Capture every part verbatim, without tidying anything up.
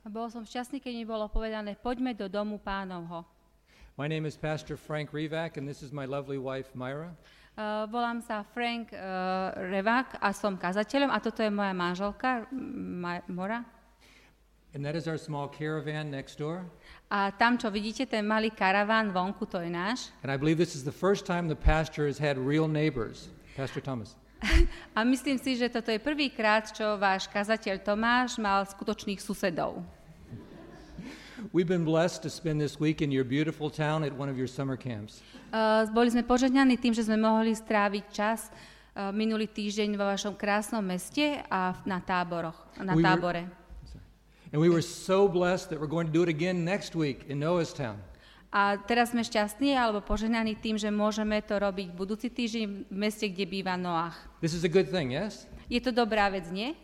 Bol som šťastný, keď mi bolo povedané, poďme do domu Pánovho. My name is Pastor Frank Rivak, and this is my lovely wife, Myra. Uh, volám sa Frank uh, Rivak a som kazateľom a toto je moja manželka, Ma- Mora. And that is our small caravan next door. A tam, čo vidíte, ten malý karaván vonku, to je náš. And I believe this is the first time the pastor has had real neighbors. Pastor Thomas. A myslím si, že toto je prvýkrát, čo váš kazateľ Tomáš mal skutočných susedov. We've been blessed to spend this week in your beautiful town at one of your summer camps. Uh, boli sme požehnaní tým, že sme mohli stráviť čas uh, minulý týždeň vo vašom krásnom meste a na táboroch, na We tábore. were, and we were so blessed that we're going to do it again next week in Noah's town. A teraz sme šťastní alebo požehnaní tým, že môžeme to robiť budúci týždeň v meste, kde býva Noach. This is a good thing, yes? Je to dobrá vec, nie?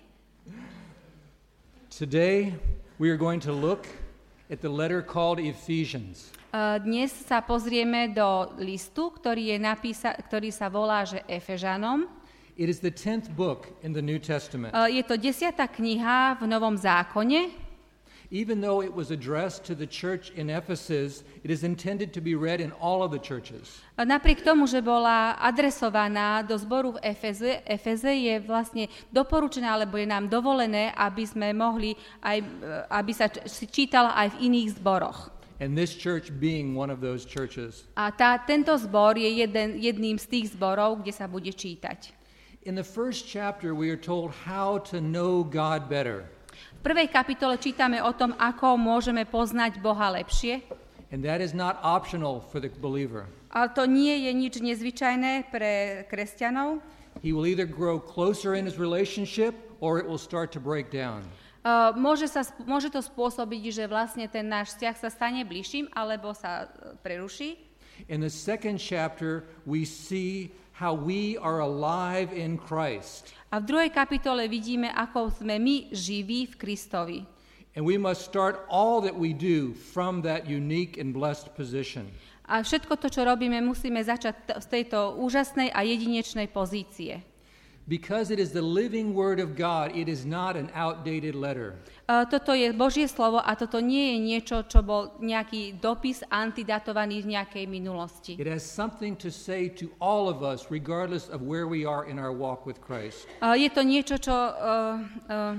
Today we are going to look at the letter called Ephesians. Uh, dnes sa pozrieme do listu, ktorý, je napísa- ktorý sa volá, že Efežanom. It is the tenth book in the New Testament. Uh, je to desiata kniha v Novom zákone. Even though it was addressed to the church in Ephesus, it is intended to be read in all of the churches. Napriek tomu, že bola adresovaná do zboru v Efeze, Efeze je vlastne doporučená, alebo je nám dovolené, aby sme mohli aj, aby sa čítala aj v iných zboroch. And this church being one of those churches. A tá, tento zbor je jeden, jedným z tých zborov, kde sa bude čítať. In the first chapter we are told how to know God better. V prvej kapitole čítame o tom, ako môžeme poznať Boha lepšie. And that is not optional for the believer. Ale to nie je nič nezvyčajné pre kresťanov. He will either grow closer in his relationship or it will start to break down. Uh, môže, sa, môže to spôsobiť, že vlastne ten náš vzťah sa stane bližším, alebo sa uh, preruší. In the second chapter we see how we are alive in Christ. A v druhej kapitole vidíme, ako sme my živí v Kristovi. And we must start all that we do from that unique and blessed position. A všetko to, čo robíme, musíme začať t- z tejto úžasnej a jedinečnej pozície. Because it is the living word of God, it is not an outdated letter. Uh, toto je Božie slovo a toto nie je niečo, čo bol nejaký dopis antidatovaný z nejakej minulosti. It has something to say to all of us, regardless of where we are in our walk with Christ. Uh, je to niečo, čo... Uh, uh,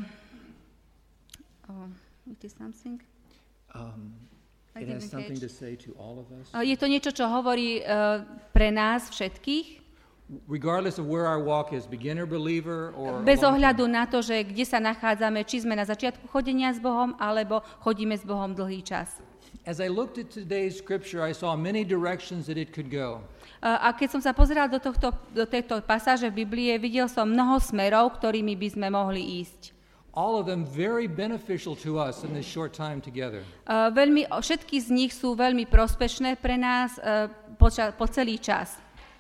uh, it is something? Um, I it has didn't something catch. to say to all of us. Uh, je to niečo, čo hovorí uh, pre nás všetkých. Regardless of where our walk is, beginner believer or Bez ohľadu na to, že kde sa nachádzame, či sme na začiatku chodenia s Bohom, alebo chodíme s Bohom dlhý čas. As I looked at today's scripture, I saw many directions that it could go. A keď som sa pozeral do, tohto, do tejto pasáže v Biblie, videl som mnoho smerov, ktorými by sme mohli ísť. All of them very beneficial to us in this short time together. Uh, veľmi, všetky z nich sú veľmi prospešné pre nás uh, po, ča, po celý čas.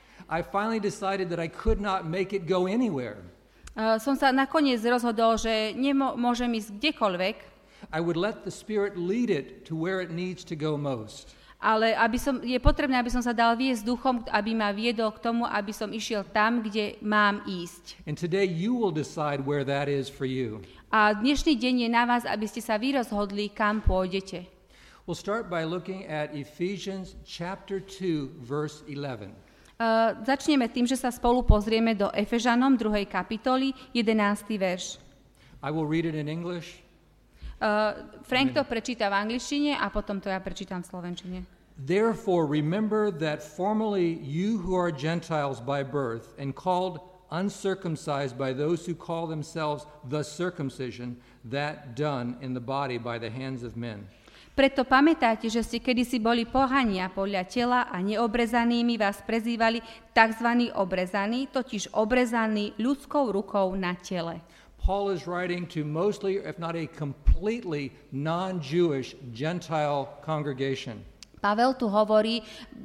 I finally decided that I could not make it go anywhere. Uh, som sa nakoniec rozhodol, že nemôžem ísť kdekoľvek, I would let the Spirit lead it to where it needs to go most. ale aby som, je potrebné, aby som sa dal viesť duchom, aby ma viedol k tomu, aby som išiel tam, kde mám ísť. And today you will decide where that is for you. A dnešný deň je na vás, aby ste sa vy rozhodli, kam pôjdete. We'll start by looking at Ephesians chapter two, verse eleven. Uh, začneme tým, že sa spolu pozrieme do Efežanom druhej kapitoly, jedenásty verš. I will read it in English. Uh, Frank to prečíta v angličtine a potom to ja prečítam v slovenčine. Therefore remember that formerly you who are Gentiles by birth and called uncircumcised by those who call themselves the circumcision, that done in the body by the hands of men. Preto pamätáte, že ste kedysi boli pohania podľa tela a neobrezanými vás prezývali tzv. Obrezaní, totiž obrezaní ľudskou rukou na tele. Paul is writing to mostly, if not a completely non-Jewish Gentile congregation. Pavel tu hovorí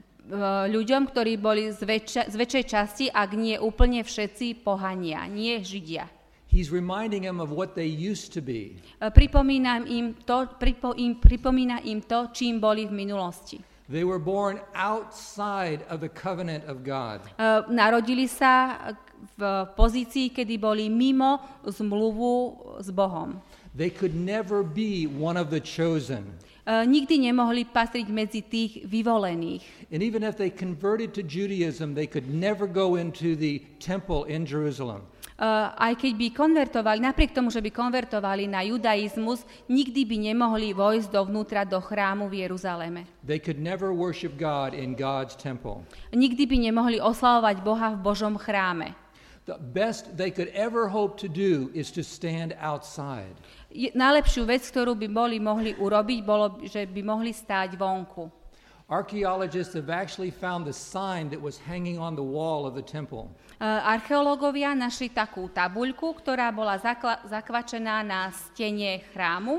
uh, ľuďom, ktorí boli z, väčša, z väčšej časti, ak nie úplne všetci pohania, nie Židia. He's reminding them of what they used to be. Uh, pripomínam im to, pripo, im, pripomína im to, čím boli v minulosti. They were born outside of the covenant of God. Uh, narodili sa v pozícii, kedy boli mimo zmluvu s Bohom. They could never be one of the chosen. Uh, nikdy nemohli patriť medzi tých vyvolených. And even if they converted to Judaism, they could never go into the temple in Jerusalem. Uh, aj keď by konvertovali, napriek tomu, že by konvertovali na judaizmus, nikdy by nemohli vojsť dovnútra do chrámu v Jeruzaleme. They could never worship God in God's temple. Nikdy by nemohli oslavovať Boha v Božom chráme. The best they could ever hope to do is to stand outside. Je, najlepšiu vec, ktorú by boli mohli urobiť, bolo, že by mohli stáť vonku. Archaeologists have actually found the sign that was hanging on the wall of the temple. Uh, archeológovia našli takú tabuľku, ktorá bola zakla- zakvačená na stene chrámu.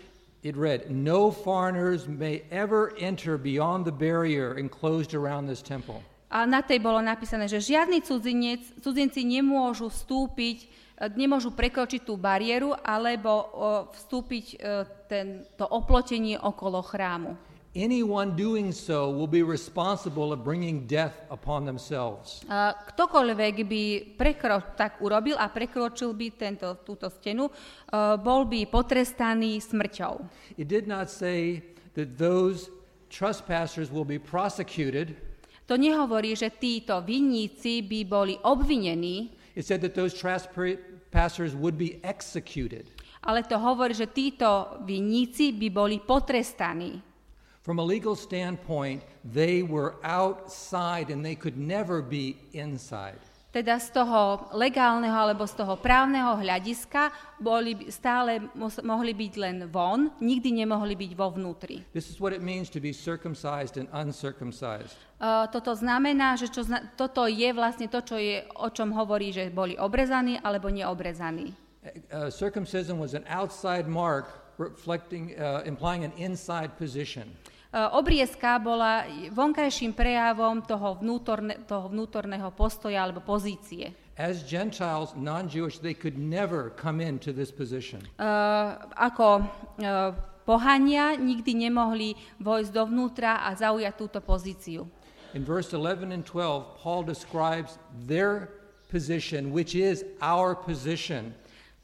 It read, "No foreigners may ever enter beyond the barrier enclosed around this temple." A na tej bolo napísané, že žiadny cudzinec, cudzinci nemôžu vstúpiť, nemôžu prekročiť tú bariéru alebo o, vstúpiť o, ten, to oplotenie okolo chrámu. Anyone doing so will be responsible of bringing death upon themselves. A ktokoľvek by prekro, tak urobil a prekročil by tento, túto stenu, uh, bol by potrestaný smrťou. It did not say that those trespassers will be prosecuted. To nehovorí, že títo vinníci by boli obvinení. It said that those trespassers would be executed. Ale to hovorí, že títo vinníci by boli potrestaní. From a legal standpoint, they were outside and they could never be inside. Teda z toho legálneho alebo z toho právneho hľadiska boli stále mohli byť len von, nikdy nemohli byť vo vnútri. This is what it means to be circumcised and uncircumcised. Uh, toto znamená, že čo zna- toto je vlastne to, čo je, o čom hovorí, že boli obrezaní alebo neobrezaní. Uh, circumcision was an outside mark reflecting, uh, implying an inside position. Uh, obriezka bola vonkajším prejavom toho, vnútorne, toho vnútorného postoja alebo pozície. As Gentiles, non-Jewish, they could never come into this position. Uh, ako uh, pohania nikdy nemohli vojsť dovnútra a zaujať túto pozíciu. In verse eleven and twelve, Paul describes their position, which is our position.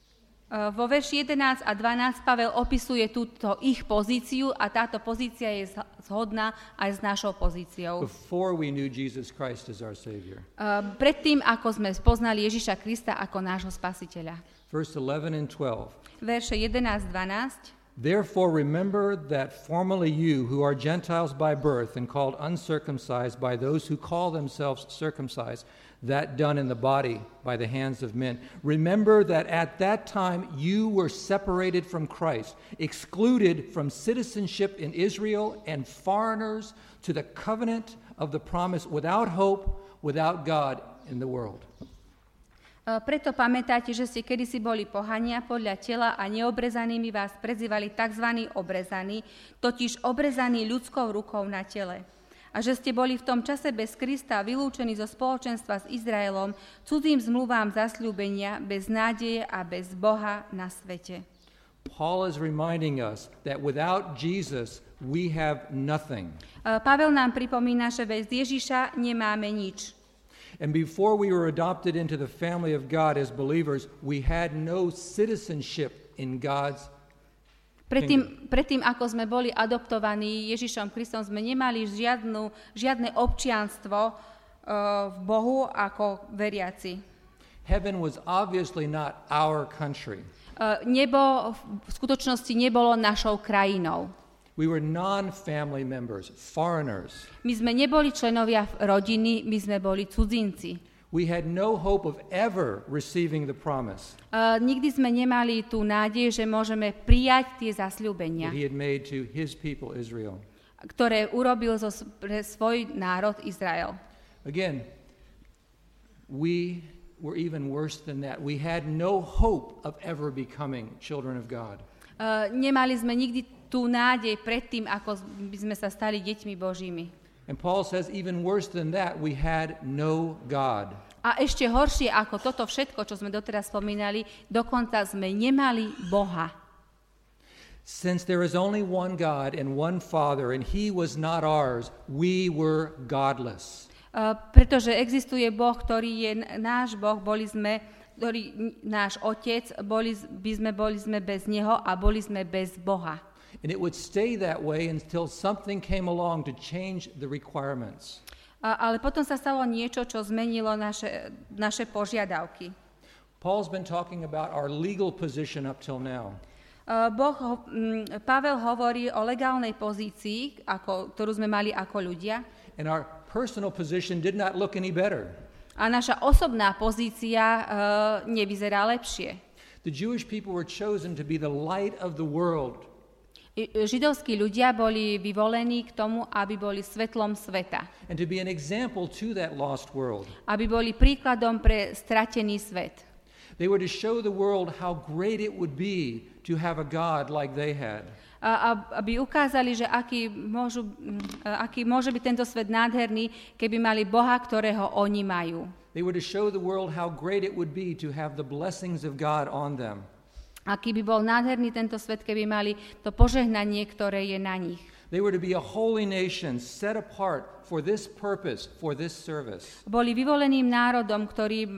Uh, vo verši jedenásť a dvanásť Pavel opisuje túto ich pozíciu a táto pozícia je zhodná aj s našou pozíciou. Before we knew Jesus Christ as our Savior. Uh, predtým, ako sme spoznali Ježiša Krista ako nášho spasiteľa. Verse eleven and twelve. Verše jedenásť dvanásť. Therefore remember that formerly you, who are Gentiles by birth and called uncircumcised by those who call themselves circumcised, that done in the body by the hands of men. Remember that at that time you were separated from Christ, excluded from citizenship in Israel and foreigners to the covenant of the promise, without hope, without God in the world. Preto pamätáte, že ste kedysi boli pohania podľa tela a neobrezanými vás prezývali tzv. Obrezaní, totiž obrezaní ľudskou rukou na tele. A že ste boli v tom čase bez Krista vylúčení zo spoločenstva s Izraelom, cudzím zmluvám zasľúbenia, bez nádeje a bez Boha na svete. Paul is reminding us that without Jesus we have nothing. Pavel nám pripomína, že bez Ježiša nemáme nič. And before we were adopted into the family of God as believers, we had no citizenship in God's Predtým, predtým, ako sme boli adoptovaní Ježišom Kristom, sme nemali žiadnu, žiadne občianstvo uh, v Bohu ako veriaci. Heaven was obviously not our country. Uh, nebo v skutočnosti nebolo našou krajinou. We were non-family members, foreigners. My sme neboli členovia rodiny, my sme boli cudzinci. We had no hope of ever receiving the promise Uh, nikdy sme nemali tú nádej, že môžeme prijať tie zasľúbenia, that he had made to his people Israel. ktoré urobil zo, pre svoj národ Izrael. Again, we were even worse than that. We had no hope of ever becoming children of God. Uh, nemali sme nikdy tú nádej predtým, ako by sme sa stali deťmi Božími. And Paul says even worse than that, we had no God. A ešte horšie ako toto všetko, čo sme doteraz spomínali, dokonca sme nemali Boha. Since there is only one God and one Father, and he was not ours, we were godless. Uh, pretože existuje Boh, ktorý je náš Boh, boli sme ktorý náš otec, boli, by sme, boli sme bez neho a boli sme bez Boha. And it would stay that way until something came along to change the requirements. A, ale potom sa stalo niečo, čo zmenilo naše, naše požiadavky. Paul's been talking about our legal position up till now. Uh, boh, um, Pavel hovorí o legálnej pozícii, ako, ktorú sme mali ako ľudia. And our personal position did not look any better. A naša osobná pozícia uh, nevyzerá lepšie. The Jewish people were chosen to be the light of the world. Židovskí ľudia boli vyvolení k tomu, aby boli svetlom sveta. And to be an example to that lost world. Aby boli príkladom pre stratený svet. They were to show the world how great it would be to have a God like they had. A, aby ukázali, že aký, môžu, aký môže byť tento svet nádherný, keby mali Boha, ktorého oni majú. They were to show the world how great it would be to have the blessings of God on them. Aký by bol nádherný tento svet, keby mali to požehnanie, ktoré je na nich. They were to be a holy nation set apart for this purpose, for this service. Boli vyvoleným národom, ktorý uh,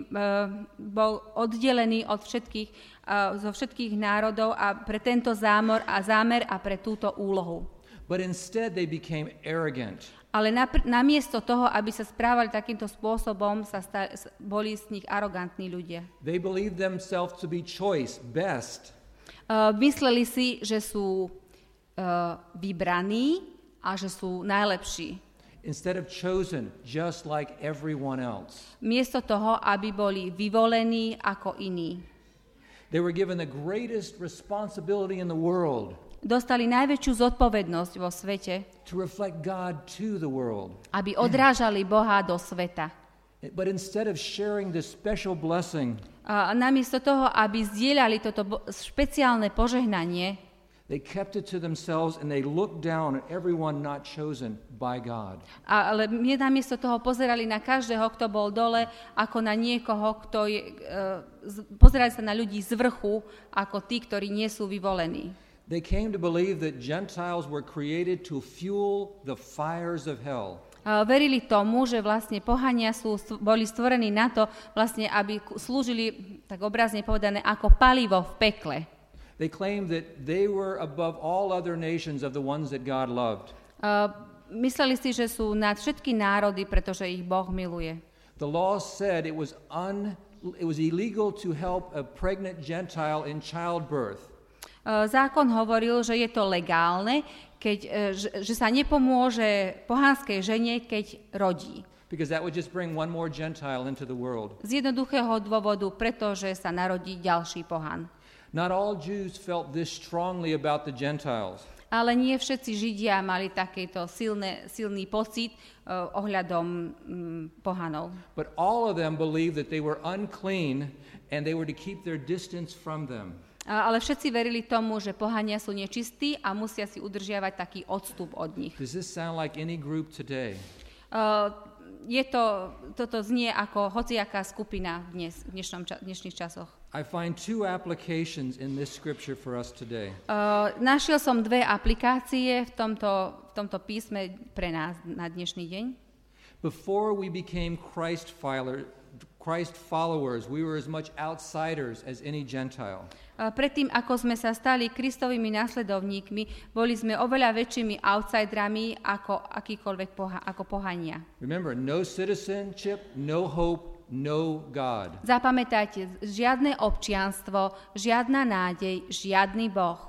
bol oddelený od všetkých, uh, zo všetkých národov a pre tento zámor a zámer a pre túto úlohu. But instead they became arrogant. Ale napr- namiesto toho, aby sa správali takýmto spôsobom, sa sta- boli z nich arogantní ľudia. They believed themselves to be choice, best. Uh, mysleli si, že sú uh, vybraní a že sú najlepší. Instead of chosen, just like everyone else. Miesto toho, aby boli vyvolení ako iní. They were given the greatest responsibility in the world. Dostali najväčšiu zodpovednosť vo svete, to reflect God to the world. Aby odrážali Boha do sveta. But instead of sharing this special blessing, a namiesto toho, aby zdieľali toto bo- špeciálne požehnanie, they kept it to themselves and they looked down at everyone not chosen by God. A, ale namiesto toho pozerali na každého, kto bol dole, ako na niekoho, kto je, uh, z, pozerali sa na ľudí z vrchu, ako tí, ktorí nie sú vyvolení. They came to believe that Gentiles were created to fuel the fires of hell. Uh, verili tomu, že vlastne pohania sú, boli stvorení na to, vlastne, aby slúžili, tak obrazne povedané, ako palivo v pekle. They claimed that they were above all other nations of the ones that God loved. Uh, mysleli si, že sú nad všetky národy, pretože ich Boh miluje. The law said it was un, it was illegal to help a pregnant Gentile in childbirth. Zákon hovoril, že je to legálne, keď, že, že sa nepomôže pohanskej žene, keď rodí. Because that would just bring one more Gentile into the world. Z jednoduchého dôvodu, pretože sa narodí ďalší pohan. Not all Jews felt this strongly about the Gentiles. Ale nie všetci Židia mali takýto silné, silný pocit uh, ohľadom um, pohanov. But all of them believed that they were unclean and they were to keep their distance from them. Ale všetci verili tomu, že pohania sú nečistí a musia si udržiavať taký odstup od nich. Does this sound like any group today? Uh, je to, toto znie ako hociaká skupina dnes, v dnešnom ča, dnešných časoch. I find two applications in this scripture for us today. Uh, našiel som dve aplikácie v tomto, v tomto písme pre nás na dnešný deň. Before we became Christ follower, Christ followers, we were as much outsiders as any Gentile. Predtým, ako sme sa stali Kristovými následovníkmi, boli sme oveľa väčšími outsiderami ako akýkoľvek poha- ako pohania. Remember, no citizenship, no hope, no God. Zapamätajte, žiadne občianstvo, žiadna nádej, žiadny Boh.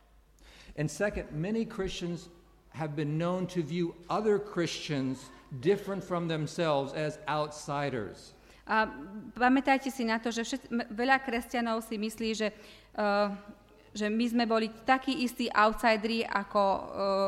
And second, many Christians have been known to view other Christians different from themselves as outsiders. A pamätajte si na to, že všet, veľa kresťanov si myslí, že, uh, že my sme boli takí istí outsideri ako uh,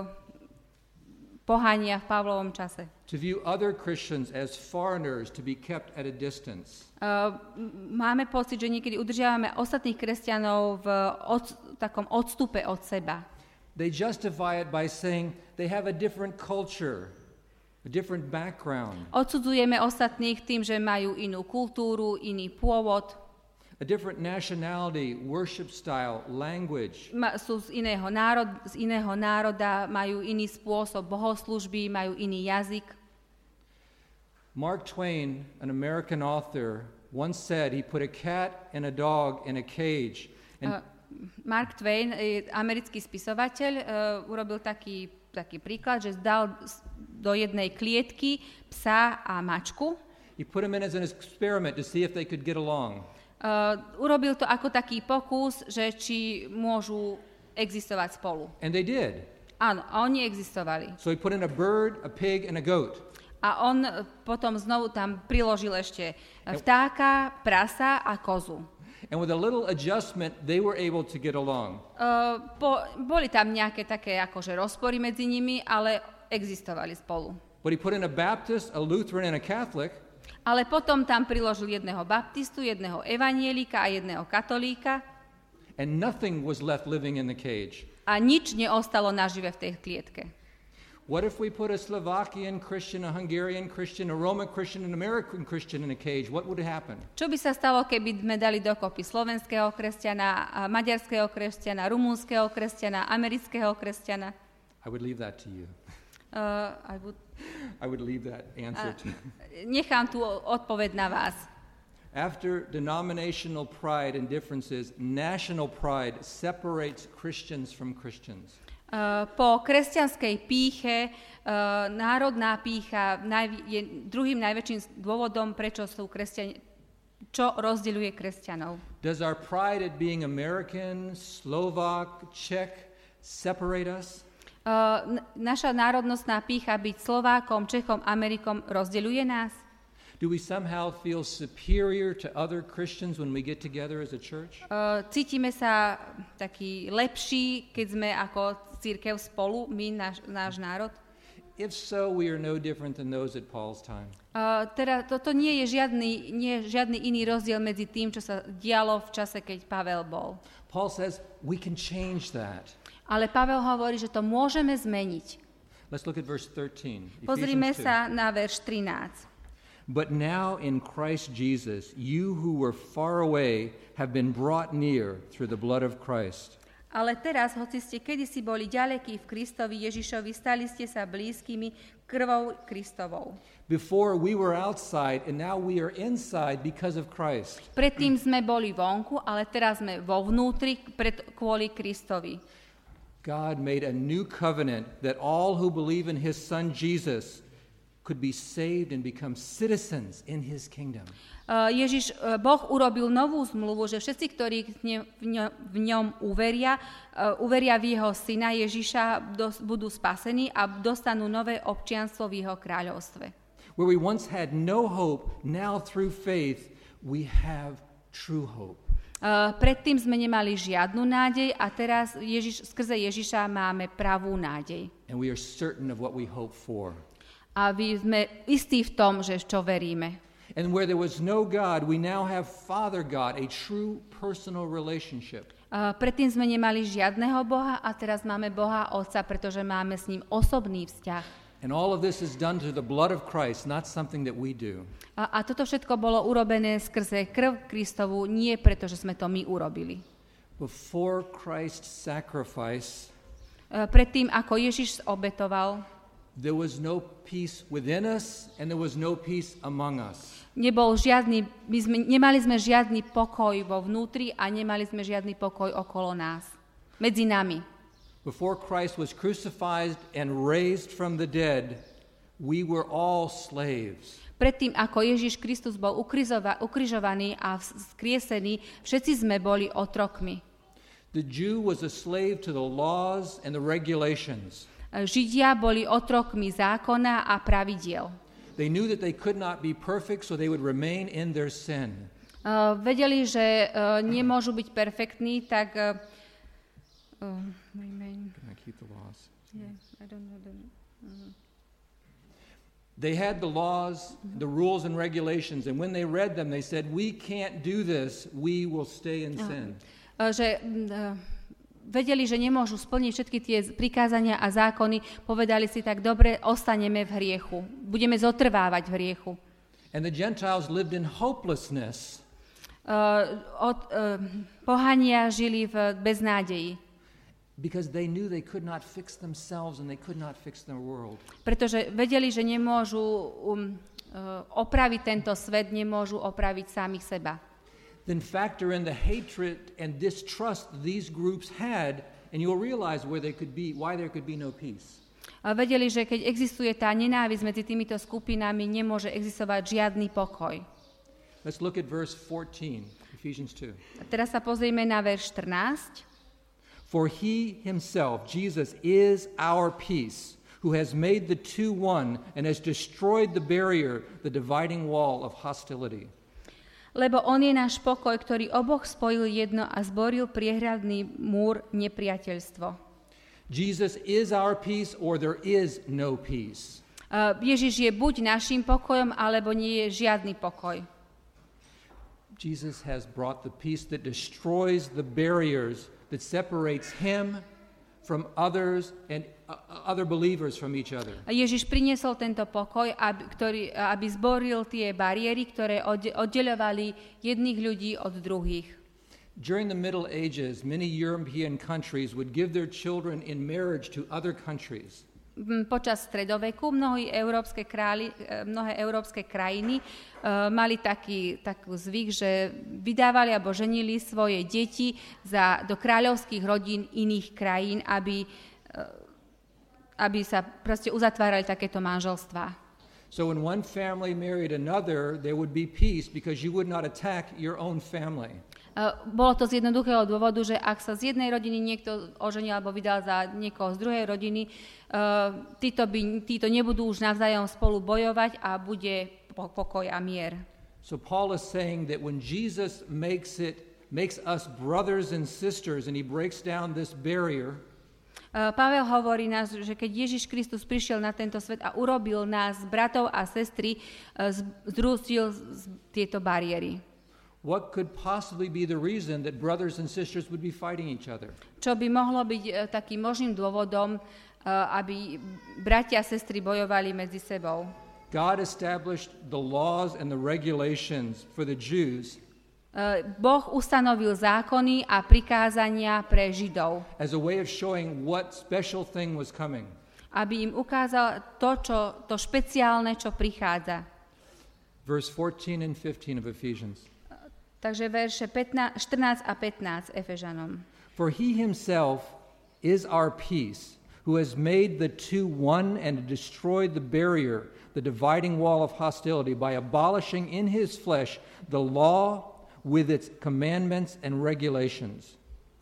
pohania v Pavlovom čase. To view other Christians as foreigners to be kept at a distance. Uh, máme pocit, že niekedy udržiavame ostatných kresťanov v od, takom odstupe od seba. They justify it by saying they have a different culture. A different background. Odsudzujeme ostatných tým, že majú inú kultúru, iný pôvod. A different nationality, worship style, language. Ma, sú z iného, národ, z iného národa, majú iný spôsob bohoslúžby, majú iný jazyk. Mark Twain, an American author, once said he put a cat and a dog in a cage. And Uh, Mark Twain, eh, americký spisovateľ, uh, urobil taký, taký príklad, že dal s- do jednej klietky psa a mačku. he put them in as an experiment to see if they could get along. Uh, urobil to ako taký pokus, že či môžu existovať spolu. And they did. Áno, a oni existovali. So he put in a bird, a pig, and a goat. A on uh, potom znovu tam priložil ešte vtáka, prasa a kozu. And with a little adjustment, they were able to get along. Uh, po, boli tam nejaké také akože rozpory medzi nimi, ale existovali spolu. But he put in a Baptist, a Lutheran, and a Catholic, Ale potom tam priložil jedného baptistu, jedného evanielika a jedného katolíka and nothing was left living in the cage. a nič neostalo nažive v tej klietke. What if we put a Slovakian Christian, a Hungarian Christian, a Roman Christian, an American Christian in a cage? What would happen? Čo by sa stalo, keby sme dali dokopy slovenského kresťana, a maďarského kresťana, rumunského kresťana, amerického kresťana? I would leave that to you. Uh, I would, I would leave that answer uh, to you. nechám tú odpoveď na vás. After denominational pride and differences, national pride separates Christians from Christians. Uh, po kresťanskej pýche, uh, národná pýcha najvi- je druhým najväčším dôvodom, prečo sú kresťania, čo rozdeľuje kresťanov. Does our pride at being American, Slovak, Czech separate us? Uh, n- naša národnostná pýcha byť Slovákom, Čechom, Amerikom rozdeľuje nás? Do we somehow feel superior to other Christians when we get together as a church? Uh, cítime sa taký lepší, keď sme ako cirkev spolu, my, náš, náš národ? If so, we are no different than those at Paul's time. Uh, teda toto nie je žiadny, nie je žiadny iný rozdiel medzi tým, čo sa dialo v čase, keď Pavel bol. Paul says we can change that. Ale Pavel hovorí, že to môžeme zmeniť. Let's look at verse thirteen. Pozrime Ephesians two. sa na verš trinásť. But now in Christ Jesus, you who were far away have been brought near through the blood of Christ. Ale teraz, hoci ste kedysi boli ďalekí v Kristovi Ježišovi, stali ste sa blízkymi krvou Kristovou. Before we were outside and now we are inside because of Christ. Predtým sme boli vonku, ale teraz sme vo vnútri pred, kvôli Kristovi. God made a new covenant that all who believe in his son Jesus could be saved and become citizens in his kingdom. Uh, Ježiš, uh, Boh urobil novú zmluvu, že všetci, ktorí v ňom, v ňom uveria, uh, uveria v jeho syna Ježiša, dos, budú spasení a dostanú nové občianstvo v jeho kráľovstve. Where we once had no hope, now through faith we have true hope. Uh, predtým sme nemali žiadnu nádej a teraz Ježiš, skrze Ježiša máme pravú nádej. And we are certain of what we hope for. A my sme istí v tom, že čo veríme. And where there was no God, we now have Father God, a true personal relationship. Uh, predtým sme nemali žiadneho Boha a teraz máme Boha Otca, pretože máme s ním osobný vzťah. And all of this is done through the blood of Christ, not something that we do. A, a toto všetko bolo urobené skrze krv Kristovu, nie preto, že sme to my urobili. Before Christ's sacrifice, Uh, predtým, ako Ježiš obetoval, there was no peace within us and there was no peace among us. nebol žiadny, my sme, nemali sme žiadny pokoj vo vnútri a nemali sme žiadny pokoj okolo nás, medzi nami. Before Christ was crucified and raised from the dead, we were all slaves. Predtým, ako Ježiš Kristus bol ukrizova, ukrižovaný a vzkriesený, všetci sme boli otrokmi. The Jew was a slave to the laws and the regulations. Židia boli otrokmi zákona a pravidiel. They knew that they could not be perfect, so they would remain in their sin. Uh, vedeli, že uh, nemôžu byť perfektní, tak uh, uh, remain. Can I keep the laws? Yeah, I don't know the, uh, They had the laws, the rules and regulations, and when they read them, they said, "We can't do this. We will stay in sin." uh, že uh, vedeli, že nemôžu splniť všetky tie prikázania a zákony, povedali si tak, dobre, ostaneme v hriechu, budeme zotrvávať v hriechu. And the Gentiles lived in hopelessness. Uh, od, uh, pohania žili v beznádeji, Because they knew they could not fix themselves and they could not fix their world. pretože vedeli, že nemôžu um, opraviť tento svet, nemôžu opraviť samých seba. Then factor in the hatred and distrust these groups had, and you'll realize where they could be, why there could be no peace. A vedeli, že keď existuje tá nenávisť medzi týmito skupinami, nemôže existovať žiadny pokoj. Let's look at verse fourteen, Ephesians two. A teraz sa pozrieme na verš štrnásť. For he himself, Jesus, is our peace, who has made the two one and has destroyed the barrier, the dividing wall of hostility. Lebo on je náš pokoj, ktorý oboch spojil jedno a zboril priehradný múr nepriateľstvo. Jesus is our peace, or there is no peace. Uh, Ježiš je buď naším pokojom, alebo nie je žiadny pokoj. Jesus has brought the peace that destroys the barriers that separates him from others and uh, other believers from each other. A Ježiš priniesol tento pokoj, aby, ktorý, aby zboril tie bariéry, ktoré oddeľovali jedných ľudí od druhých. During the Middle Ages, many European countries would give their children in marriage to other countries. Počas stredoveku mnohé európske, králi, mnohé európske krajiny uh, mali taký, taký zvyk, že vydávali alebo ženili svoje deti za, do kráľovských rodín iných krajín, aby, uh, aby sa proste uzatvárali takéto manželstvá. So when one family married another, there would be peace because you would not attack your own family. Uh, bolo to z jednoduchého dôvodu, že ak sa z jednej rodiny niekto oženil alebo vydal za niekoho z druhej rodiny, uh, títo, by, títo nebudú už navzájom spolu bojovať a bude pokoj a mier. So Paul is saying that when Jesus makes it, makes us brothers and sisters and he breaks down this barrier, uh, Pavel hovorí nás, že keď Ježiš Kristus prišiel na tento svet a urobil nás bratov a sestry, uh, zrústil tieto bariéry. What could possibly be the reason that brothers and sisters would be fighting each other? Čo by mohlo byť uh, takým možným dôvodom, uh, aby bratia a sestry bojovali medzi sebou? God established the laws and the regulations for the Jews. Uh, Boh ustanovil zákony a prikázania pre Židov, As a way of showing what special thing was coming. aby im ukázal to, čo, to špeciálne, čo prichádza. Verse fourteen and fifteen of Ephesians. Takže verše pätnásť, štrnásť a pätnásť Efežanom. For he himself is our peace, who has made the two one and destroyed the barrier, the dividing wall of hostility, by abolishing in his flesh the law with its commandments and regulations.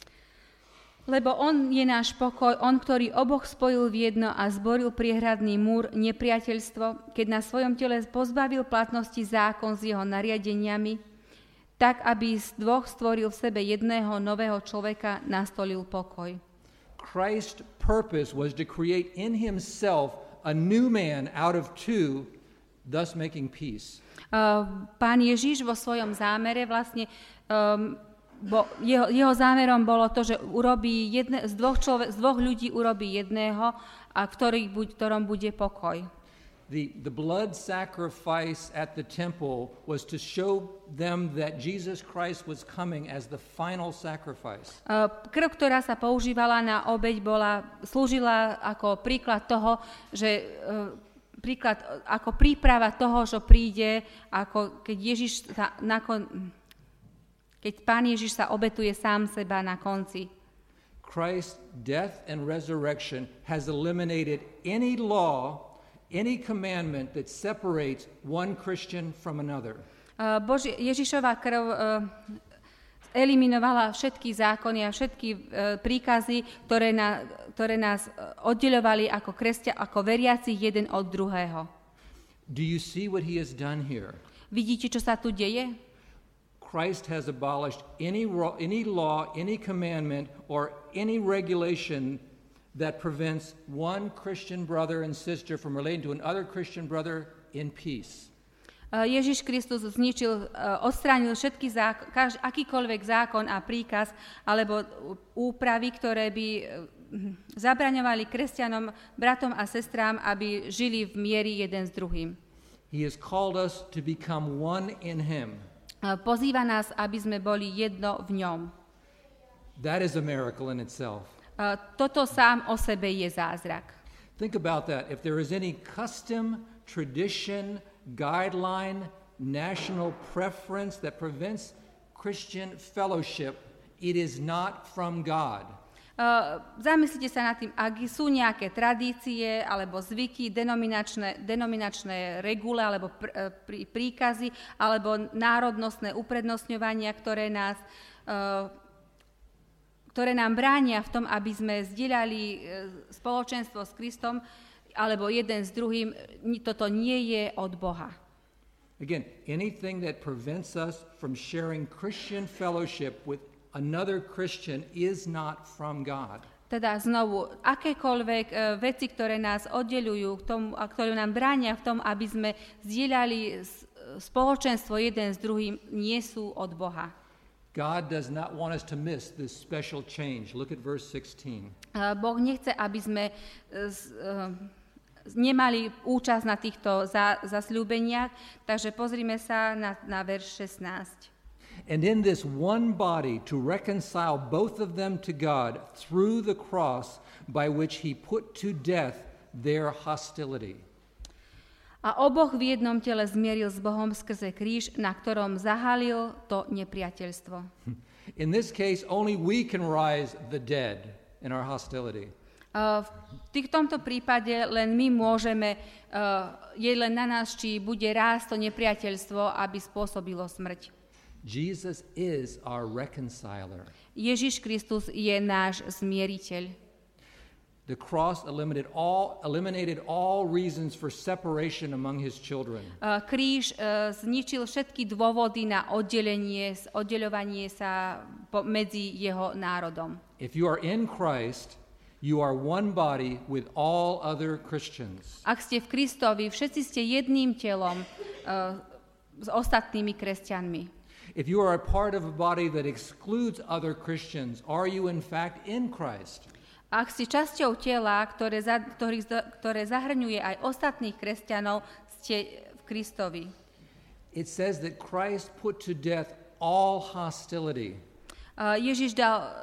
Lebo on je náš pokoj, on, ktorý oboch spojil v jedno a zboril priehradný múr nepriateľstvo, keď na svojom tele pozbavil platnosti zákon s jeho nariadeniami, tak, aby z dvoch stvoril v sebe jedného nového človeka, nastolil pokoj. Christ's purpose was to create in himself a new man out of two, thus making peace. Uh, Pán Ježiš vo svojom zámere vlastne, um, bo jeho, jeho zámerom bolo to, že urobí jedne, z, dvoch človek, z dvoch ľudí urobí jedného, a v ktorých, ktorom bude pokoj. The, the blood sacrifice at the temple was to show them that Jesus Christ was coming as the final sacrifice. Uh, krv, ktorá sa používala na obeť, bola, slúžila ako príklad toho, že uh, príklad ako príprava toho, že príde, ako keď Ježiš sa nakon, keď Pán Ježiš sa obetuje sám seba na konci. Christ's death and resurrection has eliminated any law, any commandment that separates one Christian from another. Uh, Boži, Ježišova krv uh, eliminovala všetky zákony a všetky uh, príkazy, ktoré, na, ktoré nás oddeľovali ako kresťa, ako veriaci jeden od druhého. Do you see what he has done here? Vidíte, čo sa tu deje? Christ has abolished any, any law, any commandment, or any regulation that prevents one Christian brother and sister from relating to another Christian brother in peace. Ježiš Kristus zničil, odstránil všetky zákon, každý, akýkoľvek zákon a príkaz alebo úpravy, ktoré by zabraňovali kresťanom, bratom a sestrám, aby žili v mieri jeden s druhým. He has called us to become one in him. Pozýva nás, aby sme boli jedno v ňom. That is a miracle in itself. Uh, toto sám o sebe je zázrak. Think about that. If there is any custom, tradition, guideline, national preference that prevents Christian fellowship, it is not from God. Uh, zamyslite sa nad tým, ak sú nejaké tradície alebo zvyky, denominačné, denominačné regule alebo pr, pr, príkazy alebo národnostné uprednostňovania, ktoré, nás, uh, ktoré nám bránia v tom, aby sme zdieľali uh, spoločenstvo s Kristom alebo jeden s druhým, toto nie je od Boha. Again, anything that prevents us from sharing Christian fellowship with another Christian is not from God. Teda znovu, akékoľvek uh, veci, ktoré nás oddeľujú, k tomu, a ktoré nám bránia v tom, aby sme zdieľali spoločenstvo jeden s druhým, nie sú od Boha. God does not want us to miss this special change. Look at verse sixteen. Uh, boh nechce, aby sme uh, uh, nemali účasť na týchto za, zasľúbeniach, takže pozrime sa na, na verš šestnásť. And in this one body to reconcile both of them to God through the cross by which he put to death their hostility. A oboch v jednom tele zmieril s Bohom skrze kríž, na ktorom zahalil to nepriateľstvo. In this case, only we can rise the dead in our hostility. Uh, v tých, tomto prípade len my môžeme, uh, je len na nás, či bude rásť to nepriateľstvo, aby spôsobilo smrť. Jesus is our reconciler. Ježiš Kristus je náš zmieriteľ. The cross eliminated all, eliminated all reasons for separation among his children. Uh, kríž uh, zničil všetky dôvody na oddelenie, oddeľovanie sa po, medzi jeho národom. If you are in Christ, you are one body with all other Christians. Ak ste v Kristovi, všetci ste jedným telom uh, s ostatnými kresťanmi. If you are a part of a body that excludes other Christians, are you in fact in Christ? Ak ste časťou tela, ktoré, za, ktorý, ktoré zahrňuje aj ostatných kresťanov, ste v Kristovi. It says that Christ put to death all hostility. Uh, Ježiš dal, uh,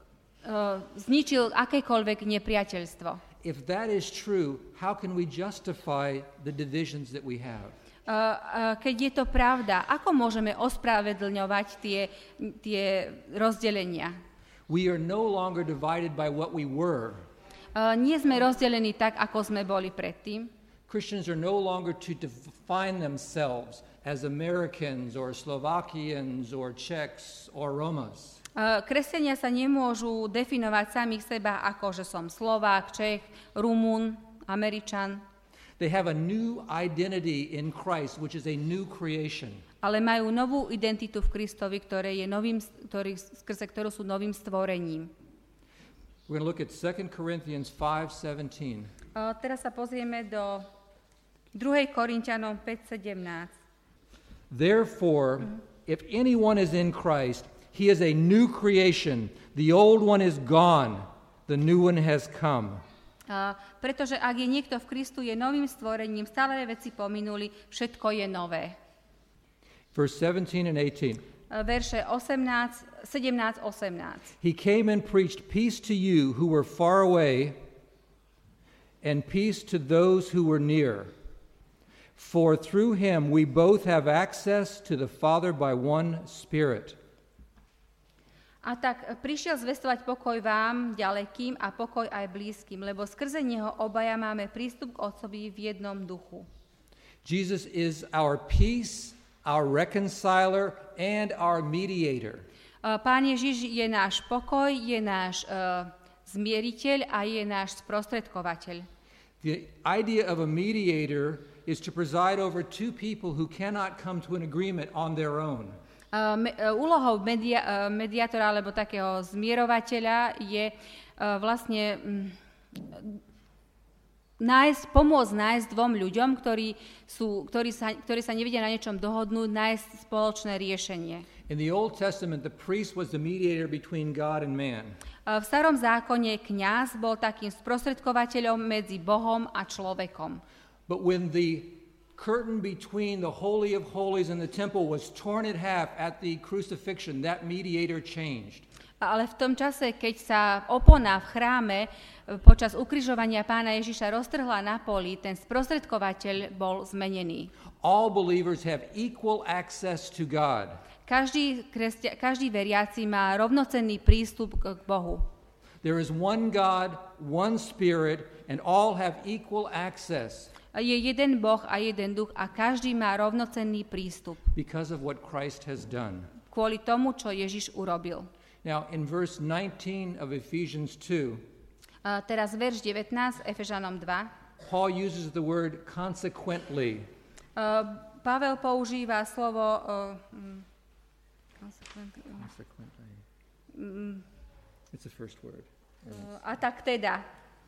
uh, zničil akékoľvek nepriateľstvo. If that is true, how can we justify the divisions that we have? Uh, uh, keď je to pravda, ako môžeme ospravedlňovať tie, tie rozdelenia? We are no longer divided by what we were. Uh, nie sme rozdelení tak, ako sme boli predtým. Christians are no longer to define themselves as Americans or Slovakians or Czechs or Romas. Uh, kresťania sa nemôžu definovať samých seba ako, že som Slovák, Čech, Rumun, Američan. They have a new identity in Christ, which is a new creation. Ale majú novú identitu v Kristovi, ktoré je novým, ktorý, skrze ktorú sú novým stvorením. We're going to look at Second Corinthians five seventeen. Uh, teraz sa pozrieme do druhej Korinťanom päť sedemnásť. Therefore, mm-hmm. if anyone is in Christ, he is a new creation. The old one is gone. The new one has come. Uh, pretože ak je niekto v Kristu, je novým stvorením, staré veci pominuli, všetko je nové. Verse seventeen and eighteen. Uh, verše osemnásť, sedemnásť osemnásť. He came and preached peace to you who were far away and peace to those who were near. For through him we both have access to the Father by one Spirit. A tak prišiel zvestovať pokoj vám, ďalekým, a pokoj aj blízkym, lebo skrze neho obaja máme prístup k Otcovi v jednom duchu. Jesus is our peace, our reconciler, and our mediator. Pán Ježiš je náš pokoj, je náš uh, zmieriteľ a je náš sprostredkovateľ. The idea of a mediator is to preside over two people who cannot come to an agreement on their own. Uh, me, uh, úlohou media, uh, mediátora alebo takého zmierovateľa je uh, vlastne um, nájsť, pomôcť nájsť dvom ľuďom, ktorí, sú, ktorí, sa, ktorí sa nevedia na niečom dohodnúť, nájsť spoločné riešenie. In the Old Testament, the priest was the mediator between God and man. Uh, v starom zákone kňaz bol takým sprostredkovateľom medzi Bohom a človekom. But when the curtain between the Holy of Holies and the temple was torn in half at the crucifixion, that mediator changed. Ale v tom čase, keď sa opona v chráme počas ukrižovania Pána Ježiša roztrhla na poli, ten sprostredkovateľ bol zmenený. All believers have equal access to God. Každý, krestia, každý veriaci má rovnocenný prístup k Bohu. There is one God, one Spirit, and all have equal access. Je jeden Boh a jeden duch a každý má rovnocenný prístup. Because of what Christ has done. Kvôli tomu, čo Ježiš urobil. Now, in verse nineteen of Ephesians two, uh, teraz verš devätnásť, Efežanom dva, Paul uses the word consequently. Uh, Pavel používa slovo uh, um, consequently. Consequently. Um, It's the first word. Uh, a tak teda.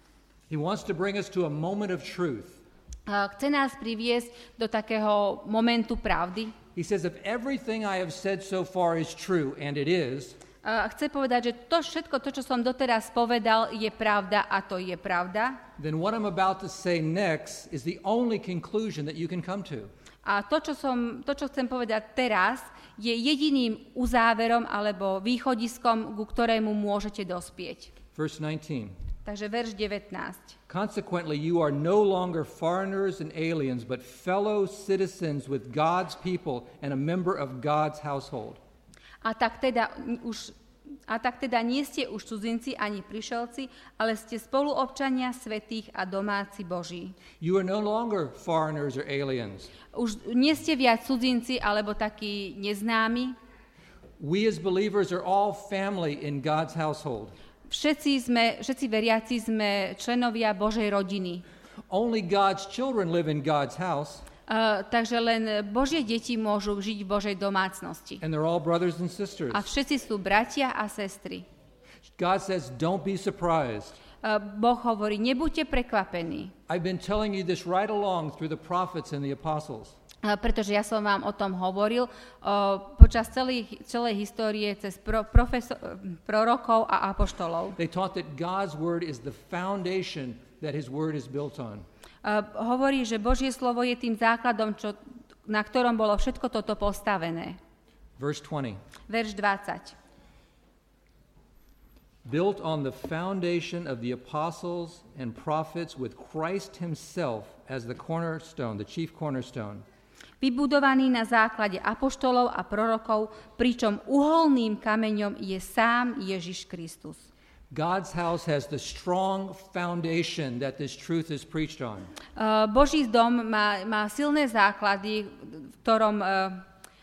He wants to bring us to a moment of truth. Uh, chce nás priviesť do takého momentu pravdy. He says, if everything I have said so far is true, and it is, Uh, chce povedať, že to všetko, to, čo som doteraz povedal, je pravda a to je pravda. then what I'm about to say next is the only conclusion that you can come to. A to, čo, som, to, čo chcem povedať teraz, je jediným uzáverom alebo východiskom, ku ktorému môžete dospieť. Verse nineteen. Takže verš devätnásť. Consequently, you are no longer foreigners and aliens, but fellow citizens with God's people and a member of God's household. A tak teda už a tak teda nie ste už cudzinci ani prišelci, ale ste spoluobčania svätých a domáci Boží. You are no longer foreigners or aliens. Už nie ste viac cudzinci alebo takí neznámi. We as believers are all family in God's household. Všetci sme, všetci veriaci sme členovia Božej rodiny. Only God's children live in God's house. Uh, takže len Božie deti môžu žiť v Božej domácnosti. And they're all brothers and sisters. A všetci sú bratia a sestry. God says, don't be surprised. Uh, boh hovorí, nebuďte prekvapení. I've been telling you this right along through the prophets and the apostles. Uh, pretože ja som vám o tom hovoril uh, počas celej, celej histórie cez pro, profesor, prorokov a apoštolov. They taught that God's word is the foundation that his word is built on. Uh, hovorí, že Božie slovo je tým základom, čo, na ktorom bolo všetko toto postavené. Verse twenty. Verš dvadsať. Built on the foundation of the apostles and prophets with Christ himself as the cornerstone, the chief cornerstone. Vybudovaný na základe apoštolov a prorokov, pričom uholným kameňom je sám Ježiš Kristus. God's house has the strong foundation that this truth is preached on. Uh, Boží dom má, má silné základy, v ktorom uh,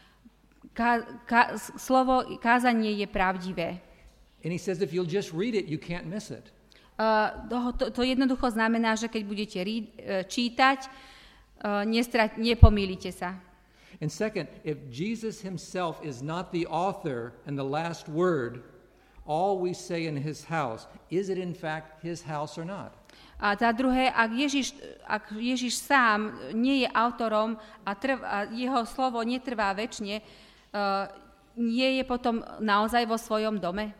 ká, ká, slovo kázanie je pravdivé. And he says if you'll just read it, you can't miss it. Uh, to, to jednoducho znamená, že keď budete rí, uh, čítať, uh, nestrať, nepomýlite sa. And second, if Jesus himself is not the author and the last word, all we say in his house, is it in fact his house or not? A za druhé, ak Ježiš, ak Ježiš sám nie je autorom a, trv, a jeho slovo netrvá večne, uh, nie je potom naozaj vo svojom dome?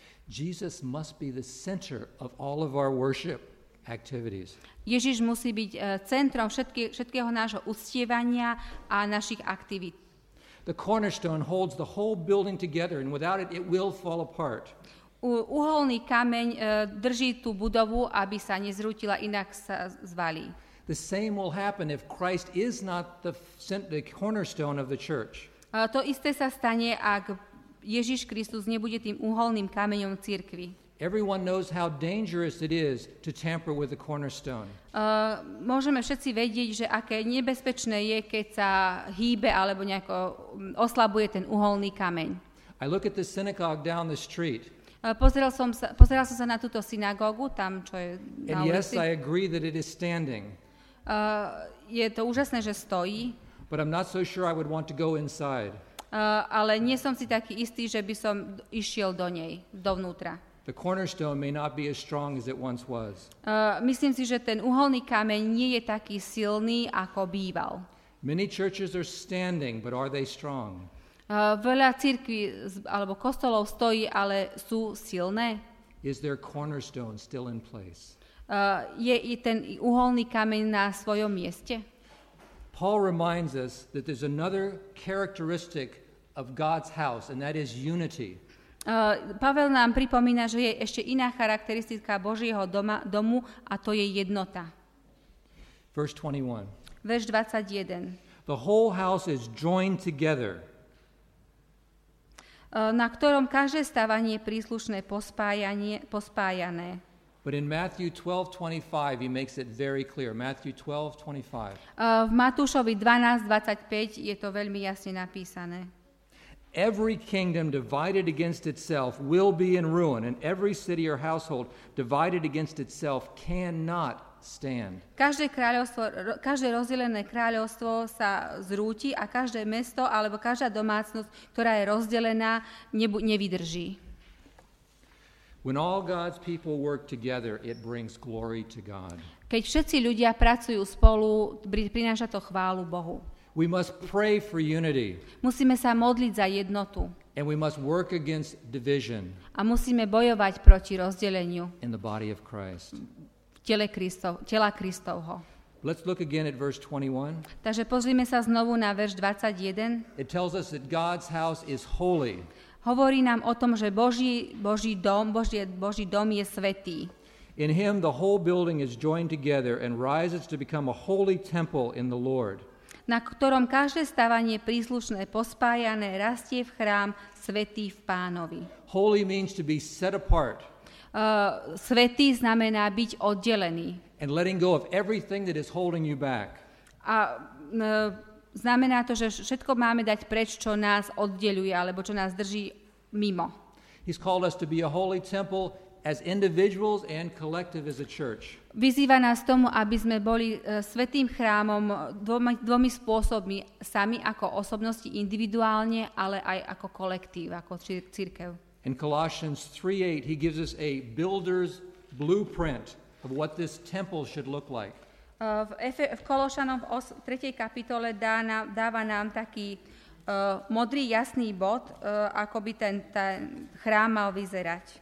Jesus must be the center of all of our worship activities. Ježiš musí byť uh, centrom všetky, všetkého nášho uctievania a našich aktivít. The cornerstone holds the whole building together, and without it, it will fall apart. U, uholný kameň uh, drží tú budovu, aby sa nezrútila, inak sa zvalí. The same will happen if Christ is not the, the cornerstone of the church. Uh, to isté sa stane, ak Ježiš Kristus nebude tým uholným kameňom cirkvi. Everyone knows how dangerous it is to tamper with the cornerstone. Uh, môžeme všetci vedieť, že aké nebezpečné je, keď sa hýbe alebo nejako oslabuje ten uholný kameň. I look at the synagogue down the street. Uh, pozeral, som sa, pozeral som sa na túto synagógu, tam, čo je na And yes, ulici. I agree that it is standing. Uh, je to úžasné, že stojí, But I'm not so sure I would want to go inside. uh, ale nie som si taký istý, že by som išiel do nej, dovnútra. The cornerstone may not be as strong as it once was. Uh, myslím si, že ten uholný kameň nie je taký silný, ako býval. Many churches are standing, but are they strong? Uh, veľa cirkví alebo kostolov stojí, ale sú silné. Is their cornerstone still in place? Uh, je i ten uholný kameň na svojom mieste? Paul reminds us that there's another characteristic of God's house, and that is unity. Uh, Pavel nám pripomína, že je ešte iná charakteristika Božieho doma, domu a to je jednota. Verse twenty-one. Verš dvadsaťjeden. The whole house is joined together. Uh, na ktorom každé stávanie je príslušné pospájanie, pospájané. But in Matthew twelve twenty-five, he makes it very clear. Matthew twelve twenty-five. Uh, v Matúšovi dvanásť dvadsaťpäť je to veľmi jasne napísané. Every kingdom divided against itself will be in ruin, and every city or household divided against itself cannot stand. Každé kráľovstvo, každé rozdelené kráľovstvo sa zrúti a každé mesto alebo každá domácnosť, ktorá je rozdelená, nebu- nevydrží. When all God's people work together, it brings glory to God. Keď všetci ľudia pracujú spolu, prináša to chválu Bohu. We must pray for unity. Musíme sa modliť za jednotu. And we must work against division. A musíme bojovať proti rozdeleniu in the body of Christ. v tele Kristov, tela Kristovho. Let's look again at verse twenty-one. Takže pozrime sa znovu na verš dvadsaťjeden. It tells us that God's house is holy. Hovorí nám o tom, že Boží, Boží dom, Boží, Boží dom je svätý. In him the whole building is joined together and rises to become a holy temple in the Lord. Na ktorom každé stávanie príslušné pospájané rastie v chrám svätý v Pánovi. Holy means to be set apart. Uh, svätý znamená byť oddelený. And letting go of everything that is holding you back. A uh, znamená to, že všetko máme dať preč, čo nás oddeľuje, alebo čo nás drží mimo. He's called us to be a holy temple as individuals and collective as a church. Vyzýva nás tomu, aby sme boli uh, svätým chrámom dvomi, dvomi spôsobmi, sami ako osobnosti individuálne, ale aj ako kolektív, ako cir- cirkev. In Colossians three eight, he gives us a builder's blueprint of what this temple should look like. V, Efe, v Kološanom v os, tretej kapitole dá nám, dáva nám taký uh, modrý jasný bod, uh, ako by ten, ten chrám mal vyzerať.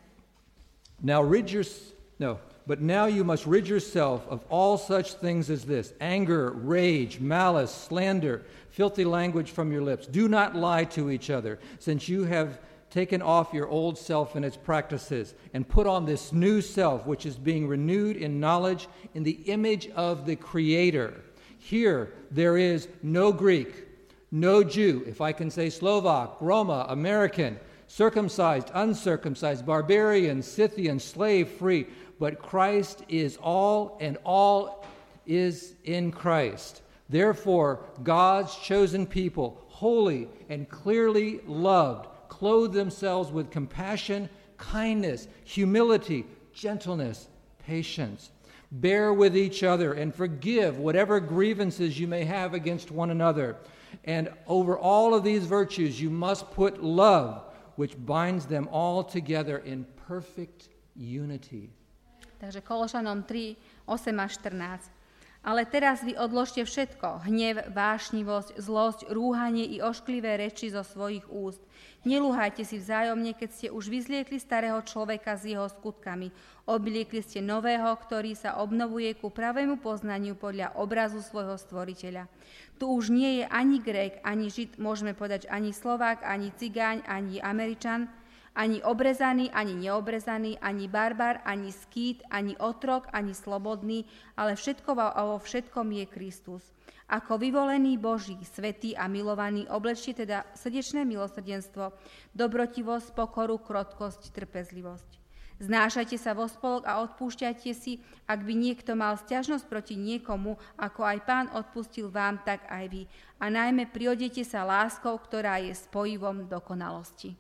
Now rid your, no, but now you must rid yourself of all such things as this: anger, rage, malice, slander, filthy language from your lips. Do not lie to each other, since you have taken off your old self and its practices, and put on this new self, which is being renewed in knowledge in the image of the Creator. Here there is no Greek, no Jew, if I can say Slovak, Roma, American, circumcised, uncircumcised, barbarian, Scythian, slave, free, but Christ is all, and all is in Christ. Therefore, God's chosen people, holy and clearly loved, clothe themselves with compassion, kindness, humility, gentleness, patience. Bear with each other and forgive whatever grievances you may have against one another. And over all of these virtues you must put love, which binds them all together in perfect unity. Takže Kološanom tri, osem až štrnásť. Ale teraz vy odložte všetko, hnev, vášnivosť, zlosť, rúhanie i ošklivé reči zo svojich úst. Nelúhajte si vzájomne, keď ste už vyzliekli starého človeka s jeho skutkami. Obliekli ste nového, ktorý sa obnovuje ku pravému poznaniu podľa obrazu svojho stvoriteľa. Tu už nie je ani Grék, ani Žid, môžeme povedať ani Slovák, ani Cigáň, ani Američan, ani obrezaný, ani neobrezaný, ani barbar, ani skýt, ani otrok, ani slobodný, ale všetko a vo všetkom je Kristus. Ako vyvolený Boží, svätý a milovaný, oblečte teda srdečné milosrdenstvo, dobrotivosť, pokoru, krotkosť, trpezlivosť. Znášajte sa vo spolok a odpúšťajte si, ak by niekto mal sťažnosť proti niekomu, ako aj Pán odpustil vám, tak aj vy. A najmä priodete sa láskou, ktorá je spojivom dokonalosti.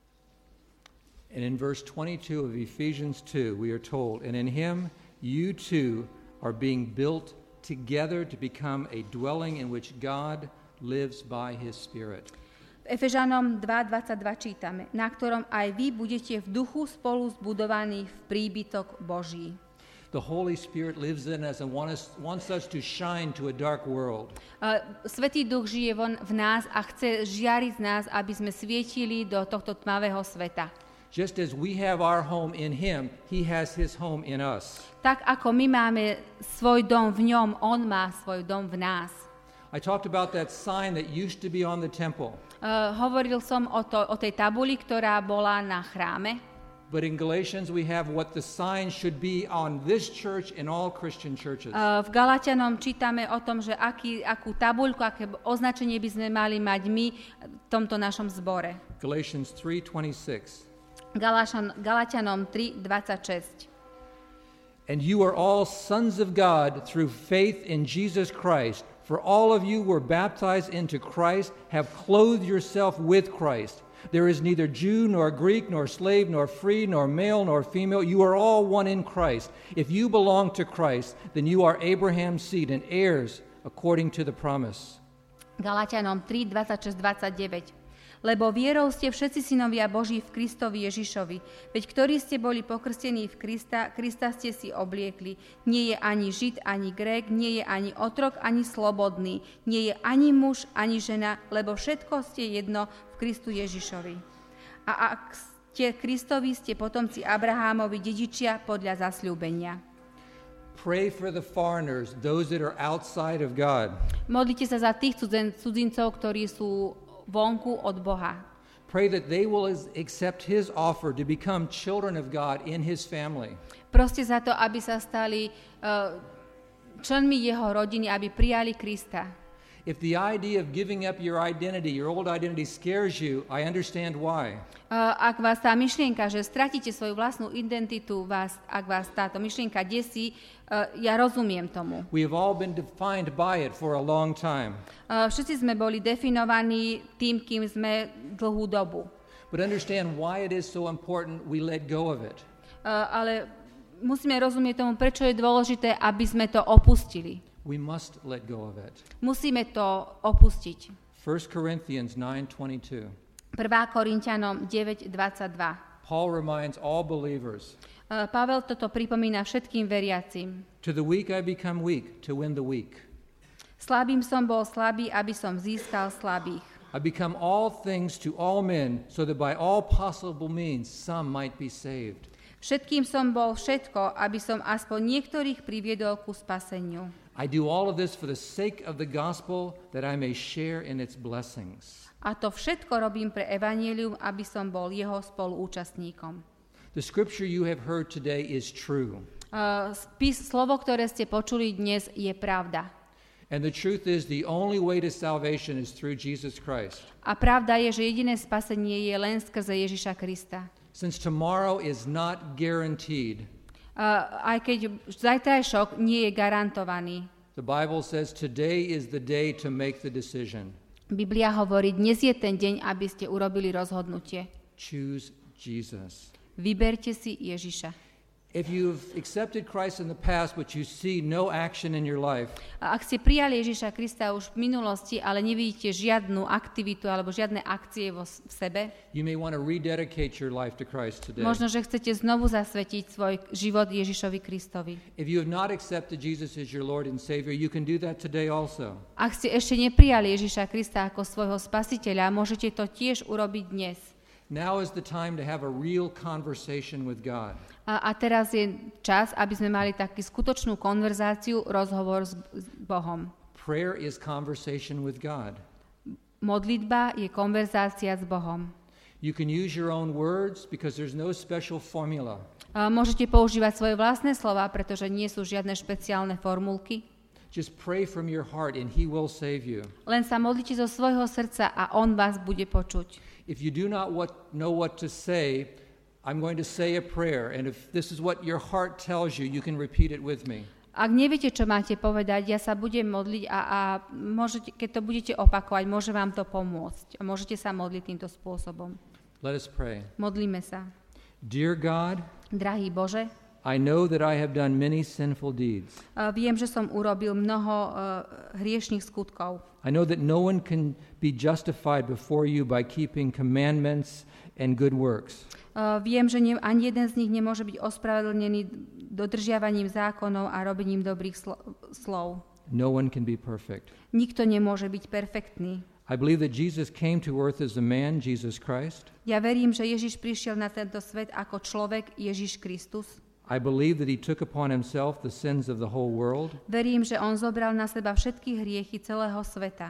And in verse twenty-two of Ephesians two, we are told, and in him you too are being built together to become a dwelling in which God lives by his Spirit. V Efežanom dva dvadsaťdva čítame, na ktorom aj vy budete v duchu spolu zbudovaní v príbytok Boží. The Holy Spirit lives in us and wants, wants us to shine to a dark world. Uh, Svätý Duch žije von, v nás a chce žiariť z nás, aby sme svietili do tohto tmavého sveta. Just as we have our home in him, he has his home in us. Tak ako my máme svoj dom v ňom, on má svoj dom v nás. I talked about that sign that used to be on the temple. Uh, hovoril som o, to, o tej tabuli, ktorá bola na chráme. But in Galatians we have what the sign should be on this church and all Christian churches. Uh, v Galatianom čítame o tom, že aký, akú tabuľku, aké označenie by sme mali mať my v tomto našom zbore. Galatians three twenty-six. Galatian, Galatianom tri dvadsaťšesť. And you are all sons of God through faith in Jesus Christ. For all of you were baptized into Christ, have clothed yourself with Christ. There is neither Jew nor Greek nor slave nor free nor male nor female. You are all one in Christ. If you belong to Christ, then you are Abraham's seed and heirs according to the promise. Galatianom tri dvadsaťšesť dvadsaťdeväť. Lebo vierou ste všetci synovia Boží v Kristovi Ježišovi. Veď ktorí ste boli pokrstení v Krista, Krista ste si obliekli. Nie je ani Žid, ani Grék, nie je ani otrok, ani slobodný. Nie je ani muž, ani žena, lebo všetko ste jedno v Kristu Ježišovi. A ak ste Kristovi, ste potomci Abrahámovi, dedičia podľa zasľúbenia. Pray for the foreigners, those that are outside of God. Modlite sa za tých cudzin, cudzincov, ktorí sú vonku od Boha. Pray that they will accept his offer to become children of God in his family. Proste za to, aby sa stali uh, členmi jeho rodiny, aby prijali Krista. If the idea of giving up your identity, your old identity scares you, I understand why. Uh, ak vás tá myšlienka, že stratíte svoju vlastnú identitu, vás, ak vás táto myšlienka desí, uh, ja rozumiem tomu. We have all been defined by it for a long time. Uh, všetci sme boli definovaní tým, kým sme dlhú dobu. But understand why it is so important we let go of it. Uh, ale musíme rozumieť tomu, prečo je dôležité, aby sme to opustili. We must let go of it. Musíme to opustiť. First Corinthians nine twenty-two. prvá Korinťanom deväť dvadsaťdva. Paul reminds all believers. Uh, Pavel toto pripomína všetkým veriacim. To the weak I become weak to win the weak. Slabým som bol slabý, aby som získal slabých. I become all things to all men so that by all possible means some might be saved. Všetkým som bol všetko, aby som aspoň niektorých priviedol ku spaseniu. I do all of this for the sake of the gospel that I may share in its blessings. A to všetko robím pre evanjelium, aby som bol jeho spoluúčastníkom. The scripture you have heard today is true. Uh, spis, slovo, ktoré ste počuli dnes, je pravda. And the truth is the only way to salvation is through Jesus Christ. A pravda je, že jediné spasenie je len skrze Ježiša Krista. Since tomorrow is not guaranteed, Uh, aj keď zajtrajšok nie je garantovaný. the Bible says today is the day to make the decision. Biblia hovorí, dnes je ten deň, aby ste urobili rozhodnutie. Choose Jesus. Vyberte si Ježiša. If you've accepted Christ in the past, but you see no action in your life, A ak ste prijali Ježiša Krista už v minulosti, ale nevidíte žiadnu aktivitu alebo žiadne akcie vo v sebe, you may want to rededicate your life to Christ today. možno, že chcete znovu zasvetiť svoj život Ježišovi Kristovi. If you have not accepted Jesus as your Lord and Savior, you can do that today also. Ak ste ešte neprijali Ježiša Krista ako svojho spasiteľa, môžete to tiež urobiť dnes. Now is the time to have a real conversation with God. A, a teraz je čas, aby sme mali takú skutočnú konverzáciu, rozhovor s, s Bohom. Prayer is conversation with God. Modlitba je konverzácia s Bohom. You can use your own words because there's no special formula. A môžete používať svoje vlastné slova, pretože nie sú žiadne špeciálne formulky. Just pray from your heart and He will save you. Len sa modlite zo svojho srdca a On vás bude počuť. If you do not what, know what to say, I'm going to say a prayer, and if this is what your heart tells you, you can repeat it with me. Ak neviete, čo máte povedať, ja sa budem modliť a, a môžete, keď to budete opakovať, môže vám to pomôcť. A môžete sa modliť týmto spôsobom. Let us pray. Modlíme sa. Dear God, Drahý Bože, I know that I have done many sinful deeds. uh, viem, že som urobil mnoho uh, hriešných skutkov. I know that no one can be justified before you by keeping commandments and good works. Uh, viem, že ne, ani jeden z nich nemôže byť ospravedlnený dodržiavaním zákonov a robením dobrých slo- slov. No one can be perfect. Nikto nemôže byť perfektný. I believe that Jesus came to earth as a man, Jesus Christ. Ja verím, že Ježiš prišiel na tento svet ako človek, Ježiš Kristus. I believe that he took upon himself the sins of the whole world. Verím, že on zobral na seba všetky hriechy celého sveta.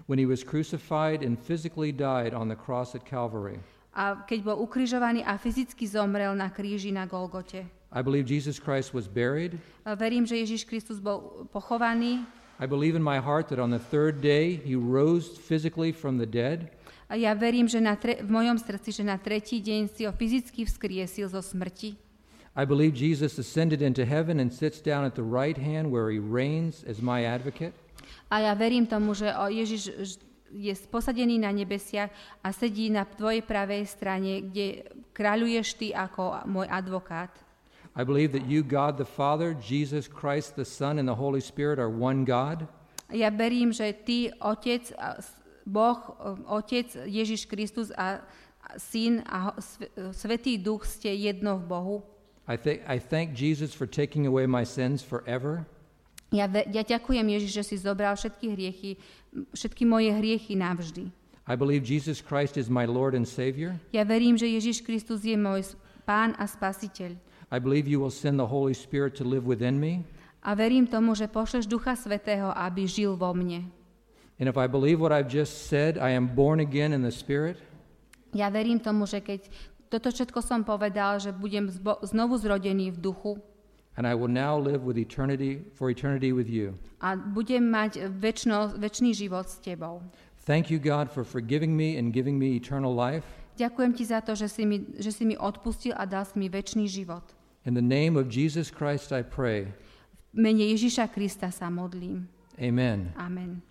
when he was crucified and physically died on the cross at Calvary. A keď bol ukrižovaný a fyzicky zomrel na kríži na Golgote. I believe Jesus Christ was buried. A verím, že Ježiš Kristus bol pochovaný. I believe in my heart that on the third day he rose physically from the dead. A ja verím, že na tre- v mojom srdci, že na tretí deň si ho fyzicky vzkriesil zo smrti. I believe Jesus ascended into heaven and sits down at the right hand where he reigns as my advocate. A ja verím tomu, že Ježiš je posadený na nebesiach a sedí na tvojej pravej strane, kde kráľuješ ty ako môj advokát. I believe that you, God the Father, Jesus Christ the Son, and the Holy Spirit are one God. Ja verím, že ty, Otec, Boh, Otec, Ježiš Kristus a Syn a Svätý Duch ste jedno v Bohu. I, th- I thank Jesus for taking away my sins forever. Ja, ja ďakujem, Ježiš, že si zobral všetky hriechy, všetky moje hriechy navždy. I believe Jesus Christ is my Lord and Savior. Ja verím, že Ježiš Kristus je môj Pán a Spasiteľ. I believe you will send the Holy Spirit to live within me. A verím tomu, že pošleš Ducha Svätého, aby žil vo mne. And if I believe what I've just said, I am born again in the Spirit. Ja verím tomu, že keď toto všetko som povedal, že budem zbo- znovu zrodený v duchu. And I will now live with eternity for eternity with you. A budem mať večno, večný život s tebou. Thank you, God, for forgiving me and giving me eternal life. Ďakujem ti za to, že si mi, že si mi odpustil a dal si mi večný život. In the name of Jesus Christ I pray. V mene Ježiša Krista sa modlím. Amen. Amen.